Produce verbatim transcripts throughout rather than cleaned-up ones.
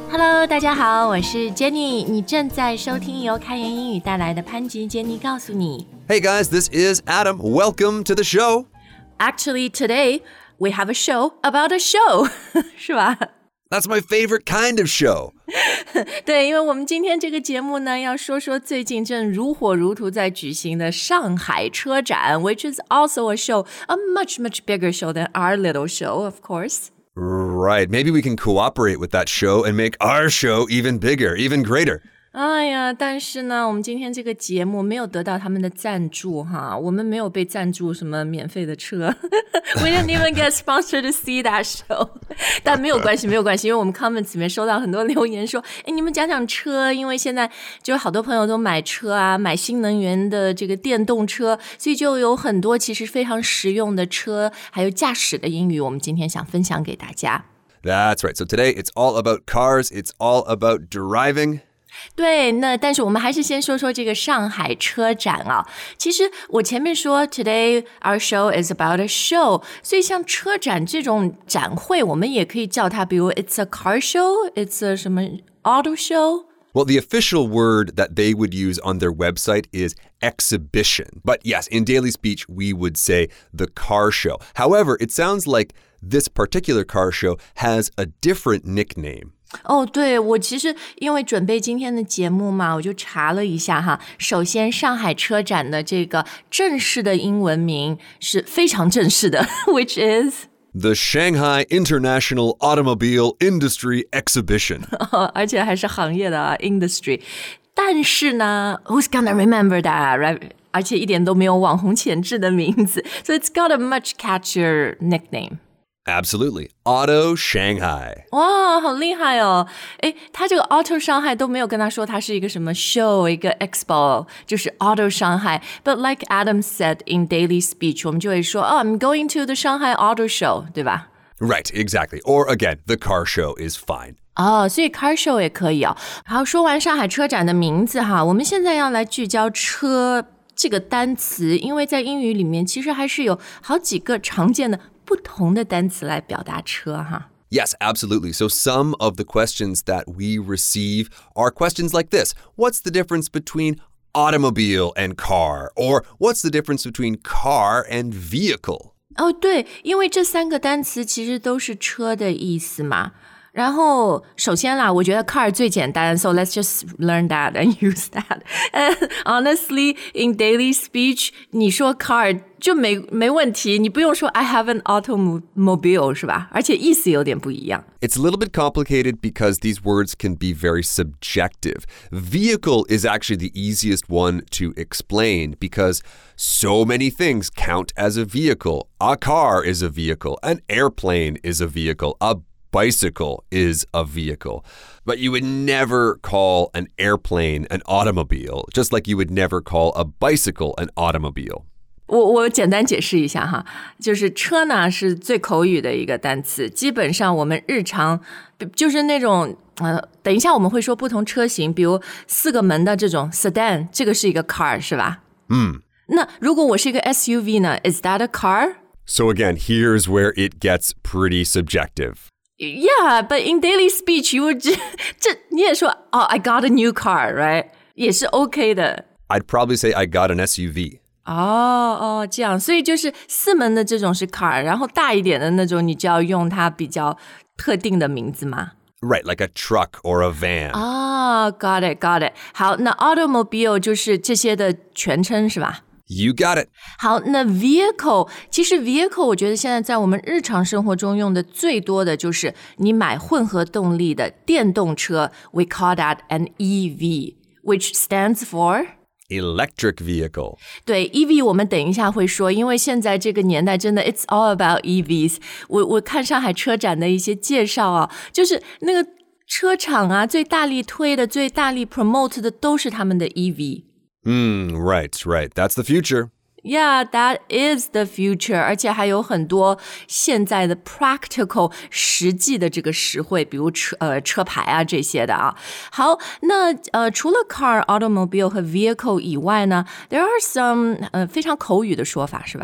Hello， 大家好，我是 Jenny， 你正在收听由开言英语带来的潘吉 Jenny 告诉你。 Hey guys, this is Adam. Welcome to the show. Actually, today we have a show about a show 是吧？ That's my favorite kind of show. 对，因为我们今天这个节目呢，要说说最近正如火如荼在举行的上海车展 which is also a show, a much, much bigger show than our little show, of course.Right. Maybe we can cooperate with that show and make our show even bigger, even greater. 哎呀，但是呢，我们今天这个节目没有得到他们的赞助哈，我们没有被赞助什么免费的车We didn't even get sponsored to see that show 但没有关系，没有关系，因为我们 comments 里面收到很多留言说，哎，你们讲讲车，因为现在就好多朋友都买车啊，买新能源的这个电动车，所以就有很多其实非常实用的车还有驾驶的英语，我们今天想分享给大家。 That's right. So today it's all about cars. It's all about driving. 对，那但是我们还是先说说这个上海车展啊。其实我前面说 Today our show is about a show， 所以像车展这种展会，我们也可以叫它，比如 It's a car show, It's a 什么 auto show。Well, the official word that they would use on their website is exhibition. But yes, in daily speech, we would say the car show. However, it sounds like this particular car show has a different nickname. 哦，对，我其实因为准备今天的节目嘛，我就查了一下哈。首先，上海车展的这个正式的英文名是非常正式的 ，which is the Shanghai International Automobile Industry Exhibition 、 哦、而且还是行业的、啊、industry。但是呢 ，who's gonna remember that, right? 而且一点都没有网红潜质的名字 ，so it's got a much catchier nickname.Absolutely. Auto Shanghai. 哇，好厉害哦！诶，他这个 Auto 上海都没有跟他说他是一个什么 show, 一个 expo, 就是 Auto 上海。But like Adam said in daily speech, 我们就会说 Oh, I'm going to the Shanghai Auto Show, 对吧？ Right, exactly. Or again, the car show is fine. 哦，所以 car show 也可以哦。好，说完上海车展的名字哈，我们现在要来聚焦车这个单词，因为在英语里面其实还是有好几个常见的不同的单词来表达车哈。 Yes, absolutely. So some of the questions that we receive are questions like this. What's the difference between automobile and car? Or what's the difference between car and vehicle? 哦，对，因为这三个单词其实都是车的意思嘛。然后首先啦，我觉得 car 最简单 so let's just learn that and use that. And honestly, in daily speech, 你说 car 就没没问题，你不用说 I have an automobile 是吧？而且意思有点不一样。 It's a little bit complicated because these words can be very subjective. Vehicle is actually the easiest one to explain because so many things count as a vehicle. A car is a vehicle. An airplane is a vehicle. A bicycle is a vehicle. But you would never call an airplane an automobile, just like you would never call a bicycle an automobile. 我我简单解释一下哈，就是车呢是最口语的一个单词，基本上我们日常就是那种呃，等一下我们会说不同车型，比如四个门的这种 sedan， 这个是一个 car 是吧？ 嗯。 那如果我是一个 S U V 呢 ？Is that a car? So again, here's where it gets pretty subjective.Yeah, but in daily speech, you would 这你也说哦 I got a new car, right? 也是 OK 的。 I'd probably say I got an S U V. 哦哦，这样，所以就是四门的这种是 car， 然后大一点的那种，你就要用它比较特定的名字嘛。 Right, like a truck or a van. 哦 got it, got it. 好，那 automobile 就是这些的全称是吧 ？You got it. 好，那 vehicle 其实 vehicle 我觉得现在在我们日常生活中用的最多的就是你买混合动力的电动车 we call that an E V, which stands for electric vehicle. 对 E V 我们等一下会说，因为现在这个年代真的 it's all about E Vs. 我我看上海车展的一些介绍啊，就是那个车厂啊最大力推的最大力 promote 的都是他们的 E V. Mm, right, right. That's the future. Yeah, that is the future. 而且还有很多现在的 practical 实际的这个实惠，比如车呃车牌啊这些的啊。好，那呃除了 car, automobile 和 vehicle 以外呢 ，there are some 呃非常口语的说法是吧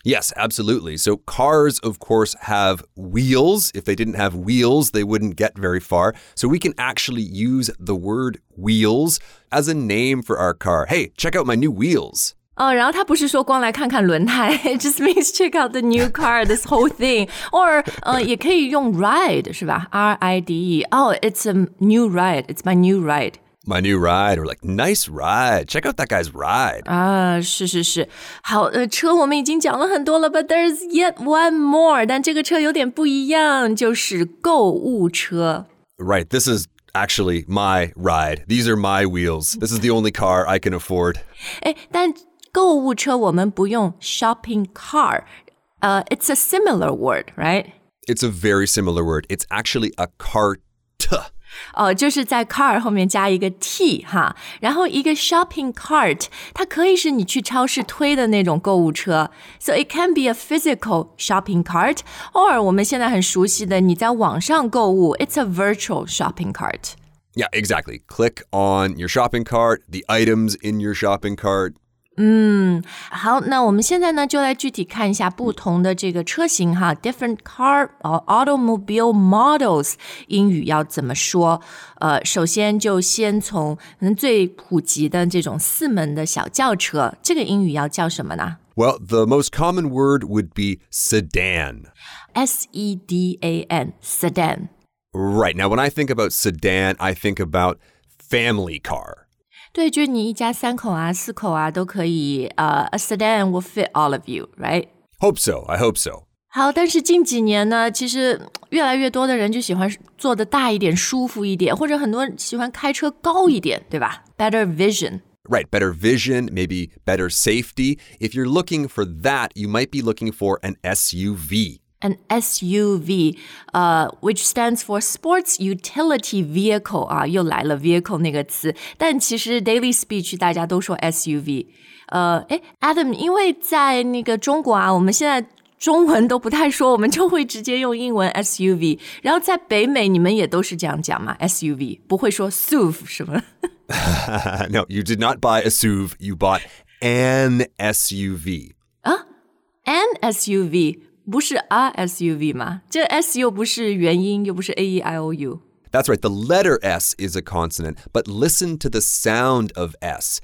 Yes, absolutely. So cars, of course, have wheels. If they didn't have wheels, they wouldn't get very far. So we can actually use the word wheels as a name for our car. Hey, check out my new wheels. 哦，然后他不是说光来看看轮胎 It just means check out the new car, this whole thing. Or 呃，也可以用 ride 是吧 R I D E. Oh, it's a new ride. It's my new ride.My new ride, or like, nice ride. Check out that guy's ride. 啊，是是是。好，呃，车我们已经讲了很多了 but there's yet one more. 但这个车有点不一样，就是购物车。 Right, this is actually my ride. These are my wheels. This is the only car I can afford. 诶，但购物车我们不用 shopping car. Uh, it's a similar word, right? It's a very similar word. It's actually a cart. 哦，就是在 car 后面加一个 t 哈，然后一个 shopping cart 它可以是你去超市推的那种购物车 So it can be a physical shopping cart or 我们现在很熟悉的你在网上购物 It's a virtual shopping cart Yeah, exactly. Click on your shopping cart, the items in your shopping cart. 嗯，好，那我们现在呢就来具体看一下不同的这个车型哈 ，different car or automobile models 英语要怎么说？呃，首先就先从可能最普及的这种四门的小轿车，这个英语要叫什么呢？ Well, the most common word would be sedan. S E D A N, sedan. Right. Now, when I think about sedan, I think about family car. 对，就是你一家三口啊、四口啊都可以。呃、uh, ，a sedan will fit all of you, right? Hope so. I hope so. 好，但是近几年呢，其实越来越多的人就喜欢坐得大一点、舒服一点，或者很多人喜欢开车高一点，对吧 ？Better vision. Right, better vision, maybe better safety. If you're looking for that, you might be looking for an S U V.An S U V, uh, which stands for Sports Utility Vehicle 啊，又来了 vehicle 那个词，但其实 daily speech 大家都说 S U V。呃，诶 Adam， 因为在那个中国啊，我们现在中文都不太说，我们就会直接用英文 S U V。然后在北美，你们也都是这样讲吗 ？S U V 不会说 S U V 是吗 ？No, you did not buy a S U V. You bought an S U V. 啊 ，an S U V。不是 a S U V 吗？这 S 又不是元音，又不是 A E I O U. That's right. The letter S is a consonant, but listen to the sound of S.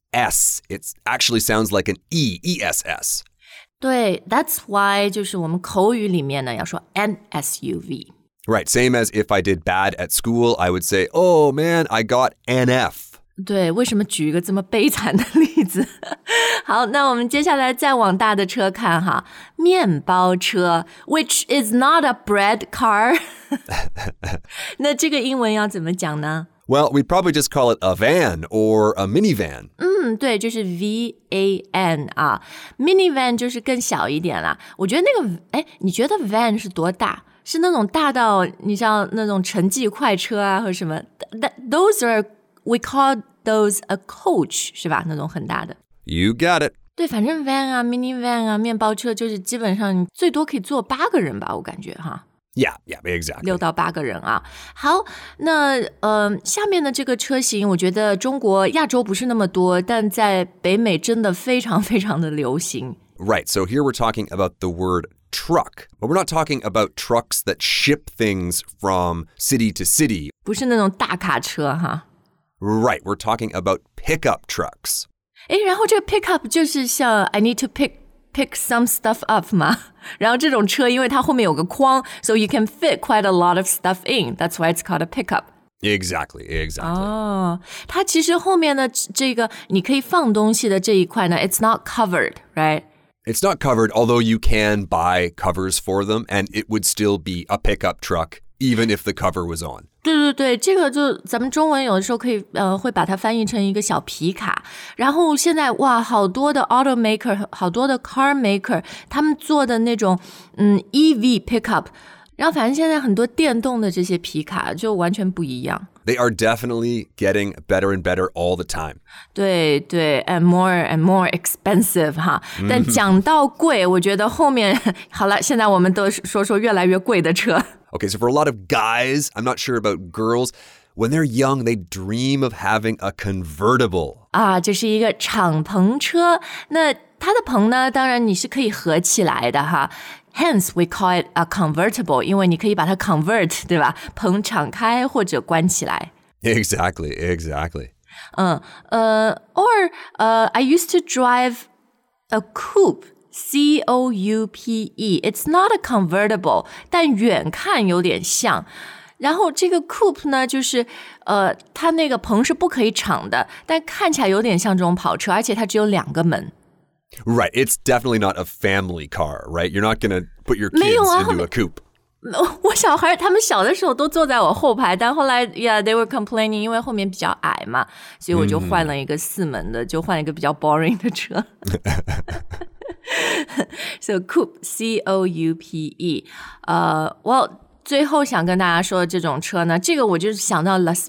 S, it actually sounds like an E, E S S. 对 that's why 就是我们口语里面呢要说 an S U V. Right, same as if I did bad at school, I would say, oh man, I got an F. 对，为什么举一个这么悲惨的例子？好，那我们接下来再往大的车看哈，面包车 ，which is not a bread car 。那这个英文要怎么讲呢？ Well, we'd probably just call it a van or a minivan. 嗯，对，就是 V A N 啊 ，minivan 就是更小一点啦。我觉得那个，哎，你觉得 van 是多大？是那种大到你像那种城际快车啊，或者什么 ？That those are we call those a coach 是吧？那种很大的。 You got it. 对，反正 van 啊 ，minivan 啊，面包车就是基本上你最多可以坐八个人吧，我感觉哈。 Yeah, yeah, exactly. 六到八个人啊。好，那呃，下面的这个车型，我觉得中国、亚洲不是那么多，但在北美真的非常非常的流行。 Right, so here we're talking about the word truck, but we're not talking about trucks that ship things from city to city. 不是那种大卡车哈。 Right, we're talking about pickup trucks. 诶，然后这个 pickup 就是像 I need to pick pick some stuff up 嘛，然后这种车因为它后面有个框 so you can fit quite a lot of stuff in. That's why it's called a pickup. Exactly, exactly. 哦，它其实后面的这个你可以放东西的这一块呢 it's not covered, right? It's not covered, although you can buy covers for them, and it would still be a pickup truck, even if the cover was on. 对对对，这个就咱们中文有的时候可以呃会把它翻译成一个小皮卡。然后现在哇，好多的 automaker， 好多的 car maker， 他们做的那种嗯 E V pickup， 然后反正现在很多电动的这些皮卡就完全不一样。 They are definitely getting better and better all the time. 对对 and more and more expensive 哈。但讲到贵，我觉得后面好了，现在我们都说说越来越贵的车。 Okay, so for a lot of guys, I'm not sure about girls, when they're young, they dream of having a convertible. 啊，这是一个敞篷车。那它的棚呢，当然你是可以合起来的哈。Hence, we call it a convertible, 因为你可以把它 convert, 对吧？棚敞开或者关起来。 Exactly, exactly. 嗯，呃 or, 呃 I used to drive a coupe, C O U P E. It's not a convertible, 但远看有点像。然后这个 coupe 呢，就是呃，它那个棚是不可以敞的，但看起来有点像这种跑车，而且它只有两个门。 Right, it's definitely not a family car, right? You're not going to put your kids into a coupe. 我小孩他们小的时候都坐在我后排，但后来 yeah they were complaining 因为后面比较矮嘛，所以我就换了一个四门的，就换一个比较 boring 的车。So coupe, C O U P E. 呃、uh, well 最后想跟大家说的这种车呢，这个我就是想到 Las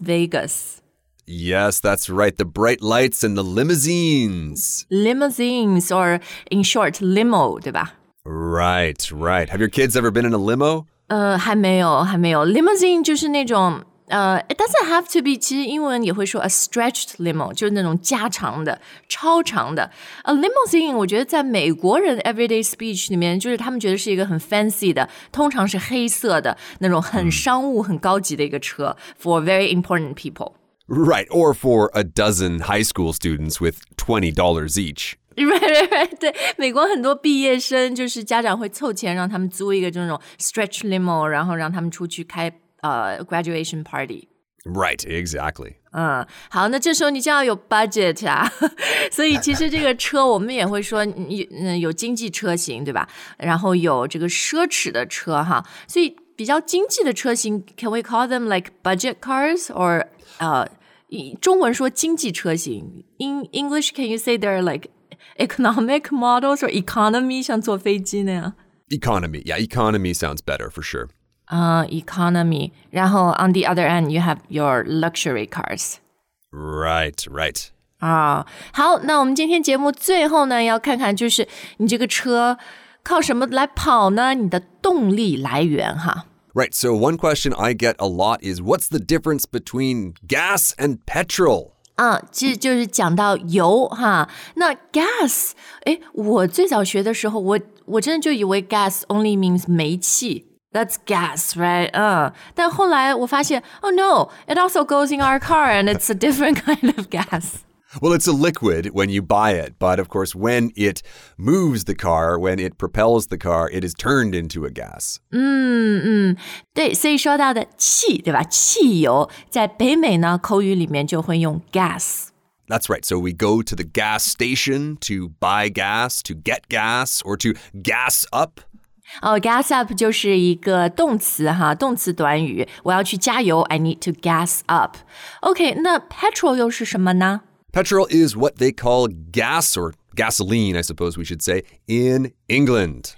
Vegas。Yes, that's right. The bright lights and the limousines. Limousines, or in short, limo, 对吧？ Right, right. Have your kids ever been in a limo? 呃，还没有，还没有。Limousine 就是那种，呃 ，it doesn't have to be. 其实英文也会说 a stretched limo， 就是那种加长的、超长的。A limousine， 我觉得在美国人 everyday speech 里面，就是他们觉得是一个很 fancy 的，通常是黑色的那种很商务、很高级的一个车 for very important people。Right, or for a dozen high school students with twenty dollars each. Right, right, right. 对，美国很多毕业生就是家长会凑钱让他们租一个这种 stretch limo， 然后让他们出去开呃 graduation party. Right, exactly. 嗯，好，那这时候你就要有 budget 啊，所以其实这个车我们也会说，嗯，有经济车型，对吧？然后有这个奢侈的车哈，所以比较经济的车型 ，can we call them like budget cars or 呃，中文说经济车型 ，in English can you say they're like economic models or economy 像坐飞机那样 Economy, yeah, economy sounds better for sure. Uh, economy. 然后 on the other end, you have your luxury cars. Right, right. 啊，好，那我们今天节目最后呢，要看看就是你这个车靠什么来跑呢？你的动力来源哈。 Right, so one question I get a lot is what's the difference between gas and petrol? 啊，其实就是讲到油哈。那 gas， 诶，我最早学的时候，我我真的就以为 gas only means 煤气。That's gas, right? 嗯，但后来我发现 ，oh no, it also goes in our car and it's a different kind of gas. Well, it's a liquid when you buy it, but of course, when it moves the car, when it propels the car, it is turned into a gas. 嗯嗯，对，所以说到的气，对吧？汽油在北美呢，口语里面就会用 gas. That's right. So we go to the gas station to buy gas, to get gas, or to gas up. 哦、oh, ，gas up 就是一个动词哈，动词短语。我要去加油 ，I need to gas up. OK， 那 petrol 又是什么呢 ？Petrol is what they call gas or gasoline, I suppose we should say, in England.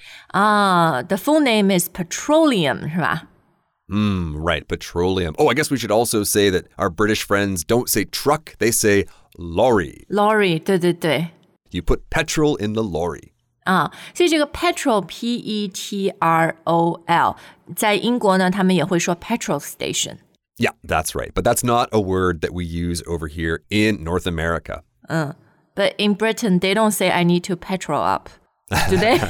Ah, the full name is petroleum, 是吧？ Mm, right, petroleum. Oh, I guess we should also say that our British friends don't say truck, they say lorry. Lorry, 对对对。 You put petrol in the lorry. 啊，所以这个 petrol, P E T R O L, 在英国呢，他们也会说 petrol station.Yeah, that's right. But that's not a word that we use over here in North America. Uh, but in Britain, they don't say, I need to petrol up. Do they?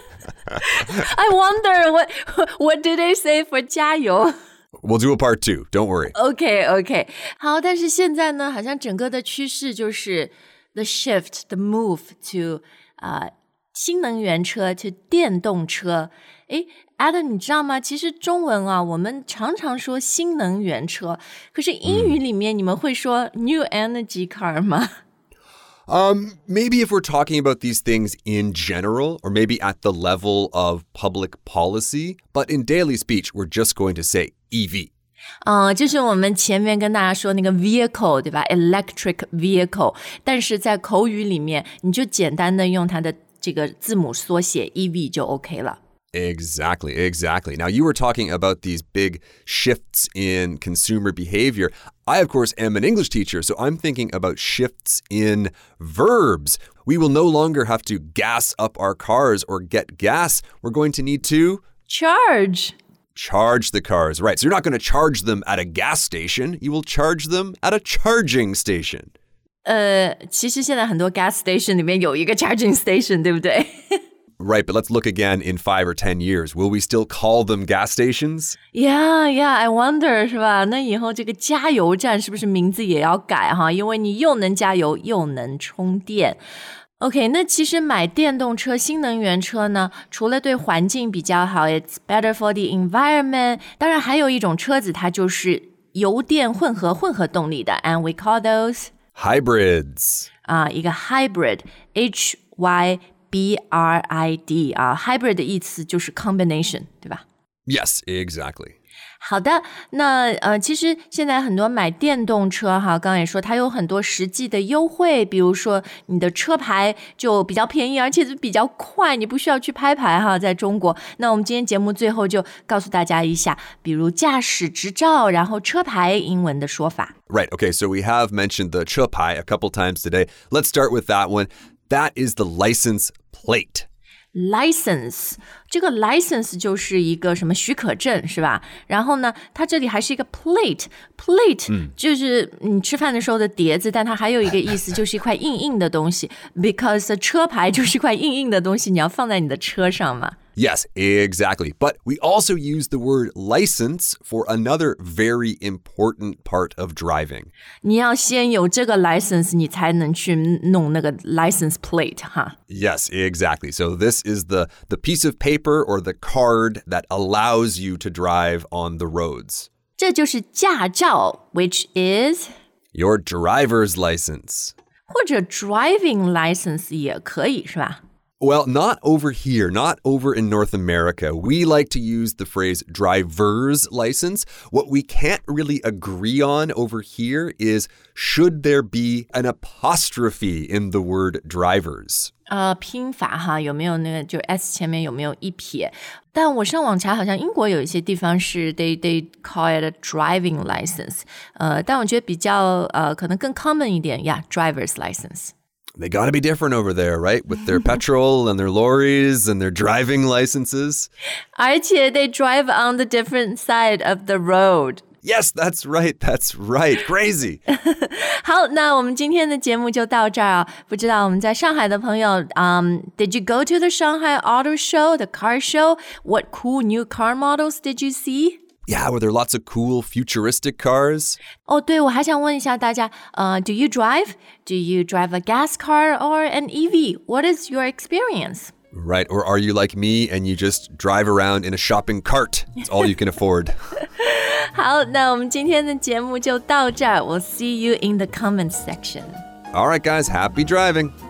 I wonder, what what do they say for 加油? We'll do a part two. Don't worry. Okay, okay. 好，但是现在呢，好像整个的趋势就是 the shift, the move to 呃、uh, 新能源车 to 电动车。诶 Adam 你知道吗？其实中文啊，我们常常说新能源车，可是英语里面你们会说 new energy car 吗？ Um, maybe if we're talking about these things in general, or maybe at the level of public policy, but in daily speech, we're just going to say E V. 嗯，就是我们前面跟大家说那个 vehicle 对吧 ？electric vehicle， 但是在口语里面，你就简单的用它的这个字母缩写 E V 就 OK 了。 Exactly, exactly. Now, you were talking about these big shifts in consumer behavior. I, of course, am an English teacher, so I'm thinking about shifts in verbs. We will no longer have to gas up our cars or get gas. We're going to need to... Charge. Charge the cars, right. So you're not going to charge them at a gas station. You will charge them at a charging station. 呃，其实现在很多 gas station 里面有一个 charging station， 对不对 ？Right, but let's look again in five or ten years. Will we still call them gas stations? Yeah, yeah, I wonder, 是吧？那以后这个加油站是不是名字也要改哈？因为你又能加油又能充电。OK, 那其实买电动车、新能源车呢，除了对环境比较好 ，it's better for the environment。当然还有一种车子，它就是油电混合混合动力的 ，and we call those hybrids. 啊，一个 hybrid, H Y B R I D 啊 ，hybrid 的意思就是 combination， 对吧？ Yes, exactly. 好的，那呃，其实现在很多买电动车哈，刚刚也说它有很多实际的优惠，比如说你的车牌就比较便宜，而且比较快，你不需要去拍牌哈，在中国。那我们今天节目最后就告诉大家一下，比如驾驶执照，然后车牌英文的说法。 Right, okay, so we have mentioned the 车牌 a couple times today. Let's start with that one. That is the license plate.License 这个 license 就是一个什么许可证是吧？然后呢，它这里还是一个 plate plate、嗯、就是你吃饭的时候的碟子，但它还有一个意思就是一块硬硬的东西 because 车牌就是一块硬硬的东西，你要放在你的车上嘛。 Yes, exactly. But we also use the word license for another very important part of driving. 你要先有这个 license 你才能去弄那个 license plate 哈。 Yes, exactly. So this is the, the piece of paper or the card that allows you to drive on the roads. 这就是驾照 which is your driver's license. 或者 driving license 也可以是吧 ？Well, not over here, not over in North America. We like to use the phrase driver's license. What we can't really agree on over here is should there be an apostrophe in the word drivers? 呃，拼法哈，有没有那个就 S 前面有没有一撇？但我上网查，好像英国有一些地方是 they they call it a driving license。呃，但我觉得比较呃可能更 common 一点呀 ，driver's license。They got to be different over there, right? With their petrol and their lorries and their driving licenses. 而且 they drive on the different side of the road. Yes, that's right. That's right. Crazy. 好，那我们今天的节目就到这儿啊。不知道我们在上海的朋友，um, did you go to the Shanghai Auto Show, the car show? What cool new car models did you see?Yeah, were there lots of cool futuristic cars? 哦，对，我还想问一下大家，呃 do you drive? Do you drive a gas car or an E V? What is your experience? Right, or are you like me and you just drive around in a shopping cart? It's all you can afford. 好，那我们今天的节目就到这儿。We'll see you in the comments section. All right, guys, happy driving.